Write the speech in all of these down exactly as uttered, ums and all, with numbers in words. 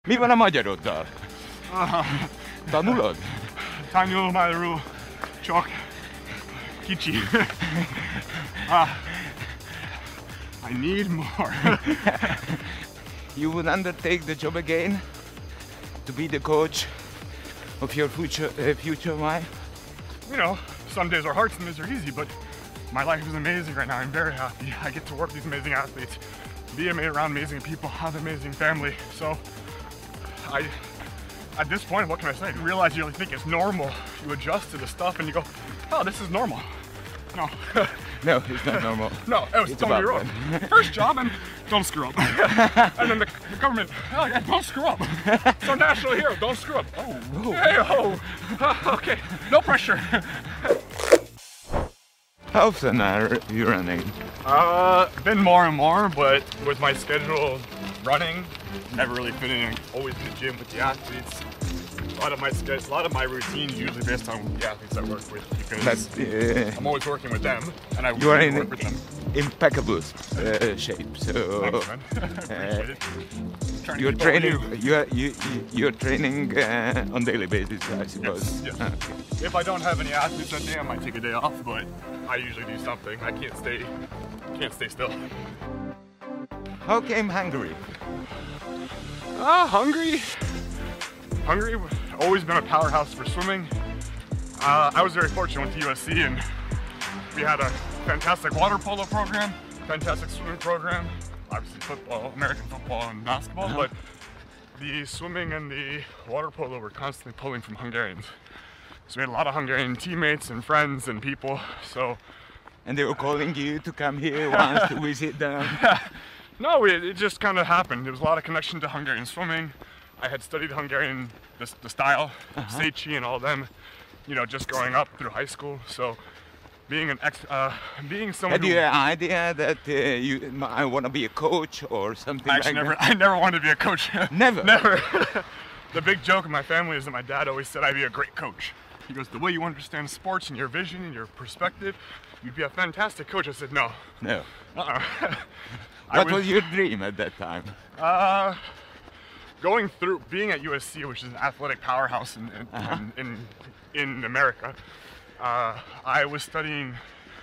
Mi van a magyaroddal? Uh, Tanulod? Tanulmányról csak kicsi. uh, I need more. You would undertake the job again to be the coach of your future uh, future wife? You know, some days are hard, some days are easy, but my life is amazing right now. I'm very happy. I get to work with these amazing athletes, be around amazing people, have an amazing family. So I, at this point, what can I say? You realize you really think it's normal. You adjust to the stuff and you go, oh, this is normal. No. No, it's not normal. No, it was It's totally about wrong. First job and don't screw up. And then the, the government, oh yeah, don't screw up. So national hero, don't screw up. Oh, Whoa. hey, oh, okay, no pressure. How often are you running? Uh, been more and more, but with my schedule running, never really fitting in, always in the gym with the athletes. A lot of my schedule, a lot of my routine is usually based on the athletes I work with because But, uh, I'm always working with them, and I you are in work with them. impeccable uh, shape. So Thanks, man. I appreciate it. Trying to you're keep up with training. you. You are you you- you're training uh, on daily basis, I suppose. Yes, yes. Ah, okay. If I don't have any athletes that day, I might take a day off, but I usually do something. I can't stay, can't stay still. How came Hungary? Ah, Hungary. Hungary, always been a powerhouse for swimming. Uh, I was very fortunate with U S C, and we had a fantastic water polo program, fantastic swimming program, obviously football, American football and basketball, Uh-huh. but the swimming and the water polo were constantly pulling from Hungarians. So we had a lot of Hungarian teammates and friends and people, so And they were calling you to come here once to visit them. no, it, it just kind of happened. There was a lot of connection to Hungarian swimming. I had studied Hungarian, the, the style, Uh-huh. Széchenyi and all them, you know, just growing up through high school. So being an ex, uh, being someone Had who you an idea that uh, you I want to be a coach or something I like actually never, that? I never wanted to be a coach. Never? Never. The big joke in my family is that my dad always said I'd be a great coach. He goes, the way you understand sports and your vision and your perspective, you'd be a fantastic coach. I said, no. No. Uh-uh. I What was your dream at that time? Uh, going through being at U S C, which is an athletic powerhouse in in, Uh-huh. in, in, in America, uh, I was studying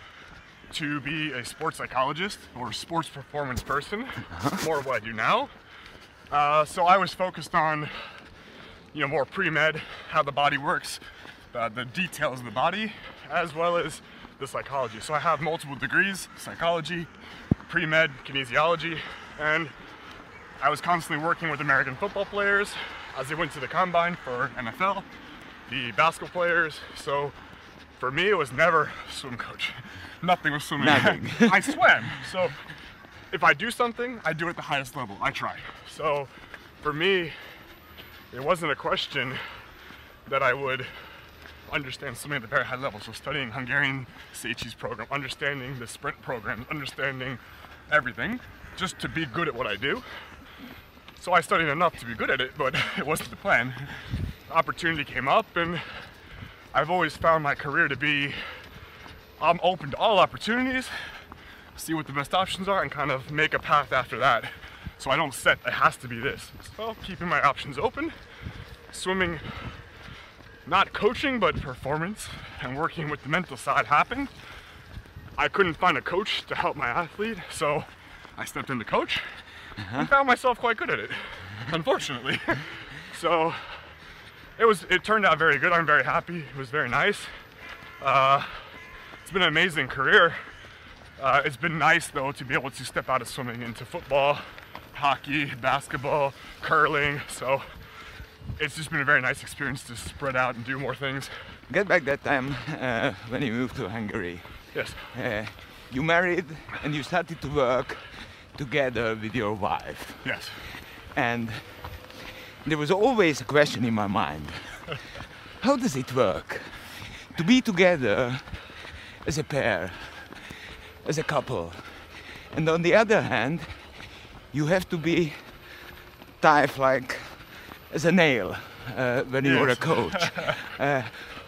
to be a sports psychologist or sports performance person, more of what I do now. Uh, so I was focused on, you know, more pre-med, how the body works, uh, the details of the body, as well as the psychology. So I have multiple degrees, psychology, pre-med, kinesiology, and I was constantly working with American football players as they went to the combine for N F L, the basketball players. So for me, it was never swim coach. Nothing was swimming. Nothing. I swam. So if I do something, I do it at the highest level. I try. So for me, it wasn't a question that I would understand swimming at the very high level. So studying Hungarian Széchenyi's program, understanding the sprint programs, understanding everything, just to be good at what I do. So I studied enough to be good at it, but it wasn't the plan. Opportunity came up, and I've always found my career to be, I'm open to all opportunities, see what the best options are, and kind of make a path after that. So I don't set, it has to be this. So keeping my options open, swimming, not coaching, but performance, and working with the mental side happened. I couldn't find a coach to help my athlete, so I stepped in to coach uh-huh. and found myself quite good at it, unfortunately. So it was, it turned out very good. I'm very happy. It was very nice. Uh, it's been an amazing career. Uh, it's been nice though to be able to step out of swimming into football, hockey, basketball, curling. So it's just been a very nice experience to spread out and do more things. Get back that time uh, when you moved to Hungary. Yes. Uh, you married and you started to work together with your wife. Yes. And there was always a question in my mind. How does it work to be together as a pair, as a couple? And on the other hand, you have to be tight like as a nail uh, when yes. you're a coach. uh,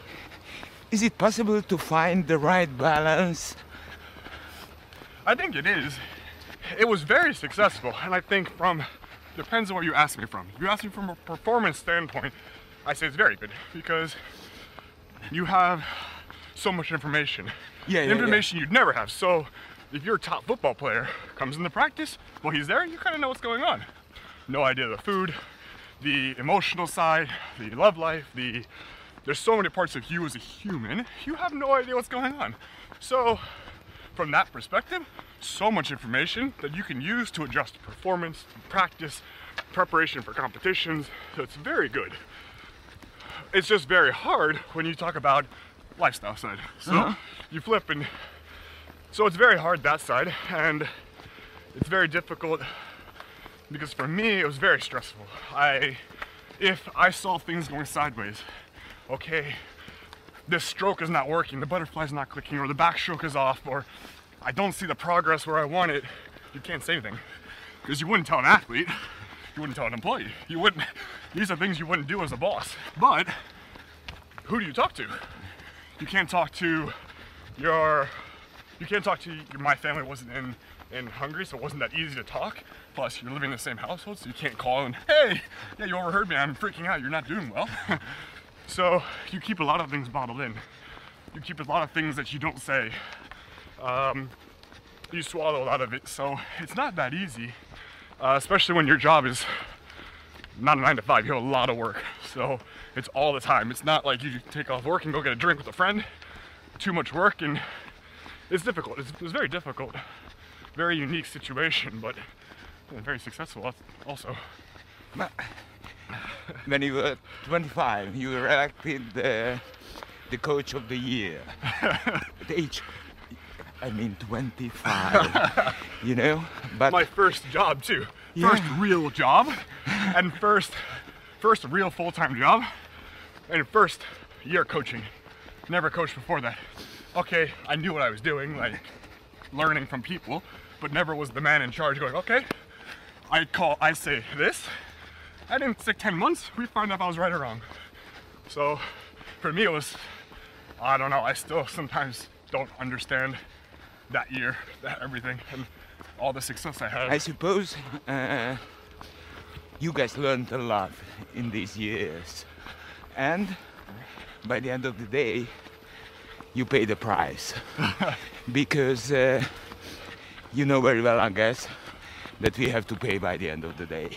is it possible to find the right balance? I think it is. It was very successful, and I think from depends on what you ask me from. If you ask me from a performance standpoint, I say it's very good because you have so much information. Yeah, yeah, information yeah. you'd never have. So if your top football player comes into practice, well, he's there, you kind of know what's going on. No idea the food, the emotional side, the love life, the there's so many parts of you as a human, you have no idea what's going on. So from that perspective, so much information that you can use to adjust performance, practice, preparation for competitions. So it's very good. It's just very hard when you talk about lifestyle side. So uh-huh. you flip and so it's very hard that side, and it's very difficult because for me it was very stressful. I if I saw things going sideways, okay, this stroke is not working, the butterfly's not clicking, or the backstroke is off, or I don't see the progress where I want it, you can't say anything. Because you wouldn't tell an athlete, you wouldn't tell an employee. You wouldn't, these are things you wouldn't do as a boss. But who do you talk to? You can't talk to your, you can't talk to, your, my family wasn't in, in Hungary, so it wasn't that easy to talk. Plus, you're living in the same household, so you can't call and, hey, yeah, you overheard me, I'm freaking out, you're not doing well. So you keep a lot of things bottled in. You keep a lot of things that you don't say. Um, you swallow a lot of it, so it's not that easy, uh, especially when your job is not a nine to five. You have a lot of work, so it's all the time. It's not like you take off work and go get a drink with a friend. Too much work, and it's difficult. It's, it's very difficult, very unique situation, but yeah, very successful also. When you were twenty-five, you were elected uh, the coach of the year. At age, I mean twenty-five, you know? But my first job too. Yeah. First real job, and first, first real full-time job, and first year coaching. Never coached before that. Okay, I knew what I was doing, like learning from people, but never was the man in charge going, okay, I call, I say this, and in six, ten months, we find out if I was right or wrong. So for me, it was, I don't know, I still sometimes don't understand that year, that everything, and all the success I had. I suppose uh, you guys learned a lot in these years, and by the end of the day, you pay the price. Because uh, you know very well, I guess, that we have to pay by the end of the day.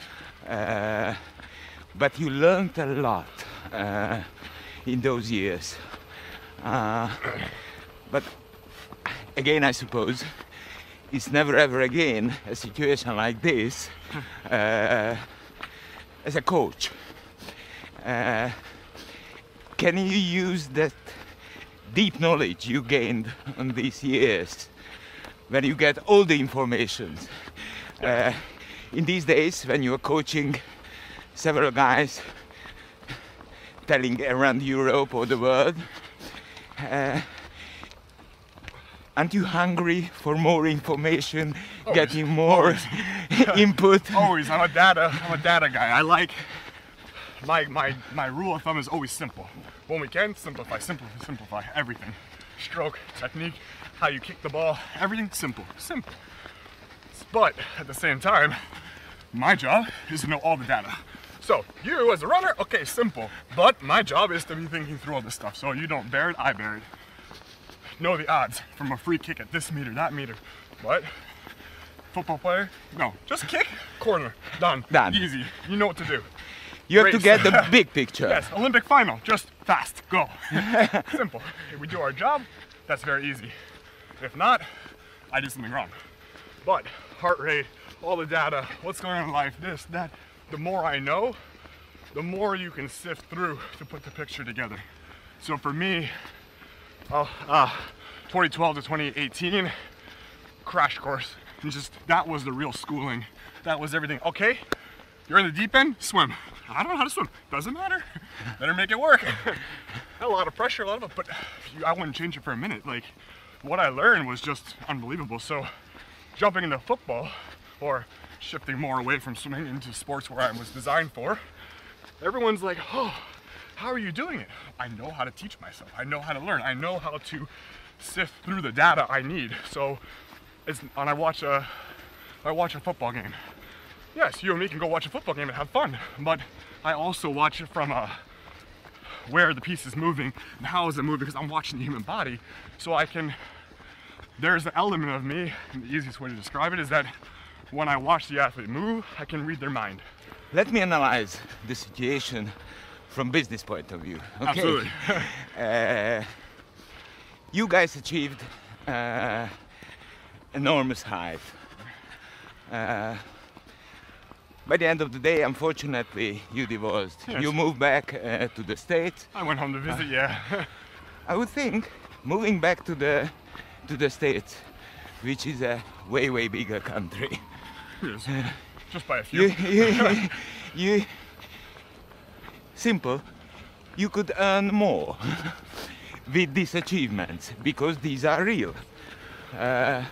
Uh, but you learned a lot uh, in those years. Uh, but again, I suppose, it's never ever again a situation like this uh, as a coach. Uh, can you use that deep knowledge you gained on these years when you get all the information? Uh, in these days, when you're coaching several guys telling around Europe or the world, uh, aren't you hungry for more information, always, getting more input? Always. I'm a data. I'm a data guy. I like my my my rule of thumb is always simple. When we can simplify, simplify, simplify everything. Stroke, technique, how you kick the ball, everything simple, simple. But at the same time, my job is to know all the data. So you as a runner, okay, simple. But my job is to be thinking through all this stuff. So you don't bear it, I bear it. Know the odds from a free kick at this meter, that meter. But football player, no, just kick, corner, done, done. Easy. You know what to do. You have Race. to get the big picture. Yes, Olympic final, just fast, go. Simple. If we do our job, that's very easy. If not, I did something wrong. But heart rate, all the data, what's going on in life, this, that, the more I know, the more you can sift through to put the picture together. So for me, oh, uh, twenty twelve to twenty eighteen, crash course. And just, that was the real schooling. That was everything. Okay, you're in the deep end, swim. I don't know how to swim. Doesn't matter. Better make it work. A lot of pressure, a lot of it, but I wouldn't change it for a minute. Like, what I learned was just unbelievable. So, jumping into football, or shifting more away from swimming into sports where I was designed for, everyone's like, oh, how are you doing it? I know how to teach myself. I know how to learn. I know how to sift through the data I need. So, it's, when I watch a, I watch a football game, yes, you and me can go watch a football game and have fun, but I also watch it from uh, where the piece is moving and how is it moving, because I'm watching the human body. So I can, there's an element of me, and the easiest way to describe it is that when I watch the athlete move, I can read their mind. Let me analyze the situation from business point of view. Okay? Absolutely. uh, you guys achieved uh, enormous height. Uh, by the end of the day, unfortunately, you divorced. Yes. You moved back uh, to the States. I went home to visit, yeah. I would think moving back to the to the States, which is a way way bigger country. Yes. Just by a few. You, you, you, simple. You could earn more with these achievements because these are real. Uh,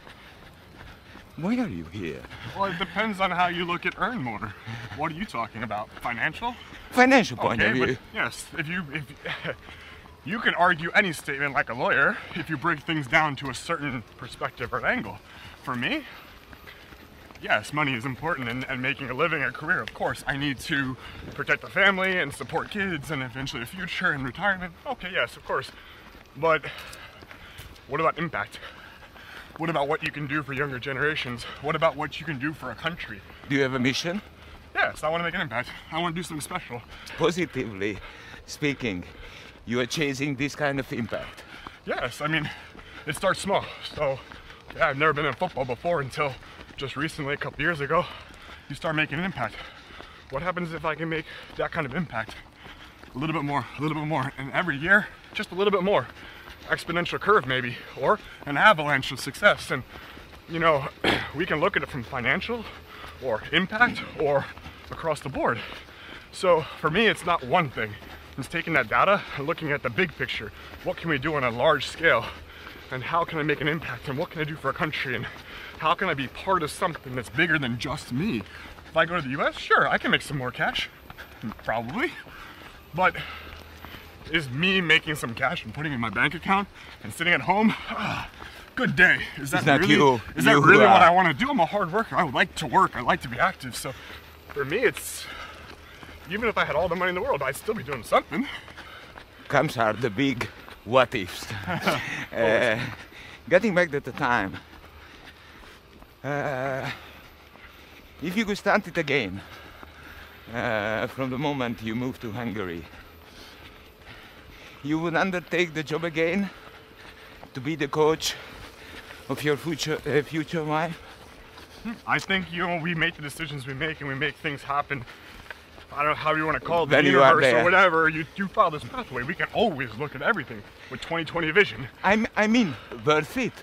why are you here? Well, it depends on how you look at earn more. What are you talking about? Financial? Financial point Okay, of but view. yes, if you if you can argue any statement like a lawyer if you break things down to a certain perspective or angle. For me, yes, money is important, and, and making a living, a career, of course. I need to protect the family and support kids and eventually a future and retirement. Okay, yes, of course. But what about impact? What about what you can do for younger generations? What about what you can do for a country? Do you have a mission? Yes, I want to make an impact. I want to do something special. Positively speaking, you are chasing this kind of impact. Yes, I mean, it starts small. So, yeah, I've never been in football before until just recently, a couple years ago. You start making an impact. What happens if I can make that kind of impact? A little bit more, a little bit more, and every year, just a little bit more. Exponential curve maybe, or an avalanche of success. And you know, we can look at it from financial or impact or across the board. So for me, it's not one thing. It's taking that data and looking at the big picture. What can we do on a large scale? And how can I make an impact? And what can I do for a country? And how can I be part of something that's bigger than just me? If I go to the U S, sure, I can make some more cash, probably. But is me making some cash and putting it in my bank account and sitting at home? Ah, good day. Is that It's not really, you. is that You really what are. I want to do? I'm a hard worker. I would like to work. I like to be active. So for me, it's, even if I had all the money in the world, I'd still be doing something. Comes are the big what ifs. uh, getting back to the time. Uh, if you could start it again, uh, from the moment you moved to Hungary, you would undertake the job again to be the coach of your future uh, future wife? I think, you know, we make the decisions we make and we make things happen. I don't know how you want to call it, the When you are universe there. or whatever. You, you follow this pathway. We can always look at everything with twenty twenty vision. I, m- I mean, worth it.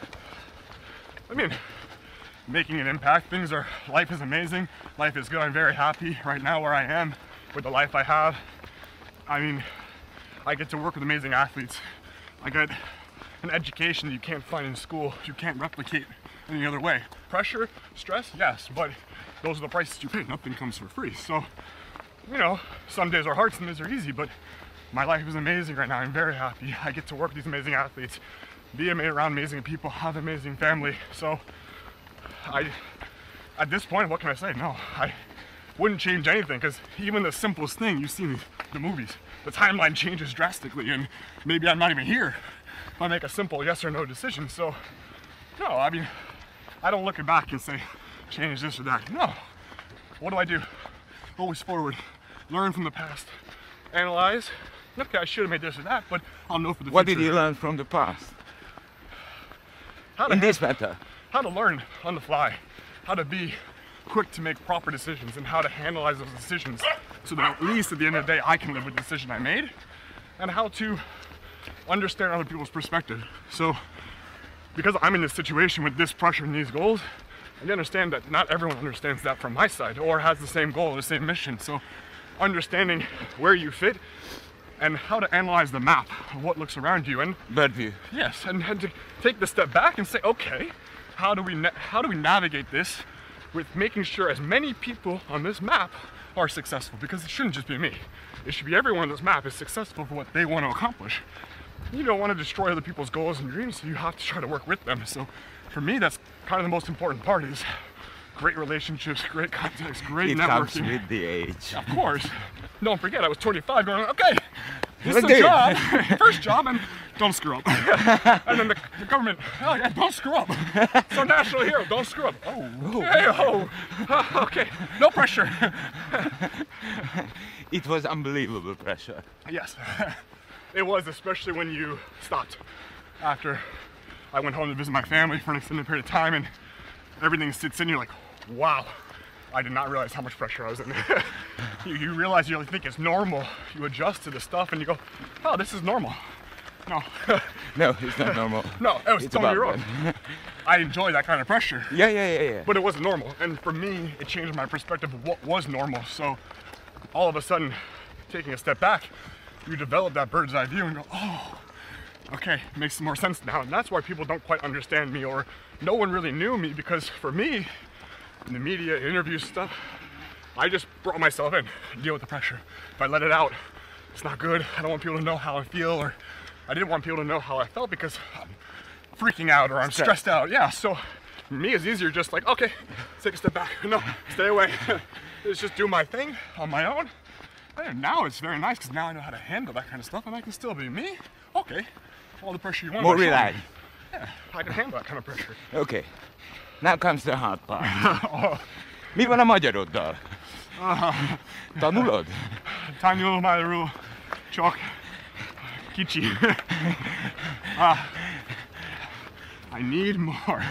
I mean, making an impact. Things are, life is amazing. Life is good. I'm very happy right now where I am with the life I have. I mean, I get to work with amazing athletes. I get an education that you can't find in school. You can't replicate any other way. Pressure, stress, yes, but those are the prices you pay. Nothing comes for free. So, you know, some days are hard, some days are easy, but my life is amazing right now. I'm very happy. I get to work with these amazing athletes, be ama- around amazing people, have an amazing family. So, I, at this point, what can I say? No, I wouldn't change anything, because even the simplest thing, you see the movies, the timeline changes drastically, and maybe I'm not even here if I make a simple yes or no decision. So, no, I mean, I don't look back and say, change this or that. No. What do I do? Always forward. Learn from the past. Analyze. Okay, I should have made this or that, but I'll know for the What future. did you learn from the past? How to In hand- this matter? how to learn on the fly, how to be quick to make proper decisions, and how to analyze those decisions so that at least at the end of the day I can live with the decision I made, and how to understand other people's perspective. So because I'm in this situation with this pressure and these goals, I understand that not everyone understands that from my side or has the same goal or the same mission. So understanding where you fit and how to analyze the map of what looks around you, and Bird view. yes, and, and to take the step back and say, okay, how do we na- how do we navigate this with making sure as many people on this map are successful? Because it shouldn't just be me. It should be everyone on this map is successful for what they want to accomplish. You don't want to destroy other people's goals and dreams, so you have to try to work with them. So for me, that's kind of the most important part, is great relationships, great contacts, great It networking. comes with the age. Of course. Don't forget, I was twenty-five going, okay, this is Okay. a job, first job, and don't screw up. And then the, the government, oh yeah, don't screw up. So national hero, don't screw up. Oh, hey, oh, uh, okay, no pressure. It was unbelievable pressure. Yes, it was, especially when you stopped after I went home to visit my family for an extended period of time and everything sits in, you're like, wow, I did not realize how much pressure I was in. you, you realize you really think it's normal. You adjust to the stuff and you go, oh, this is normal. No. No, it's not normal. No, it was It's totally about wrong. I enjoy that kind of pressure. Yeah, yeah, yeah, yeah. But it wasn't normal. And for me, it changed my perspective of what was normal. So all of a sudden, taking a step back, you develop that bird's eye view and go, oh, okay, makes more sense now. And that's why people don't quite understand me, or no one really knew me, because for me, in the media, interviews, stuff, I just brought myself in, deal with the pressure. If I let it out, it's not good. I don't want people to know how I feel, or I didn't want people to know how I felt because I'm freaking out or I'm Stress. stressed out. Yeah, so for me, it's easier just like, okay, take a step back. No, stay away. Let's just do my thing on my own. And now it's very nice because now I know how to handle that kind of stuff and I can still be me. Okay, all the pressure you want. More on my shoulder. relaxed. Yeah, I can handle that kind of pressure. Okay. Now comes the hard part. Mi van a magyaroddal? Tanulod? Tanulmányról csak kicsi. uh, I need more.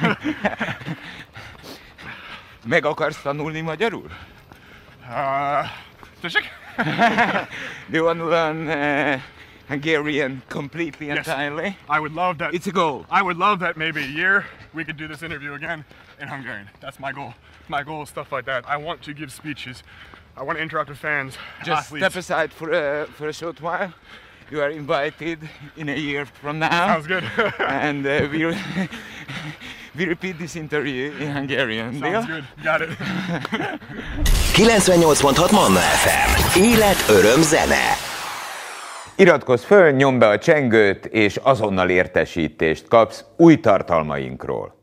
Meg akarsz tanulni magyarul? uh, tessék? Do you want to learn uh, Hungarian completely, Yes. entirely? I would love that. It's a goal. I would love that maybe a year we could do this interview again in Hungarian. That's my goal. My goal is stuff like that. I want to give speeches. I want to interact with fans, Just athletes. step aside for a, for a short while. You are invited in a year from now. Sounds good. And uh, we, we repeat this interview in Hungarian. Sounds Deal? good. Got it. kilencvennyolc pont hat Manna ef em. Élet, öröm, zene. Iratkozz föl, nyomd be a csengőt, és azonnal értesítést kapsz új tartalmainkról.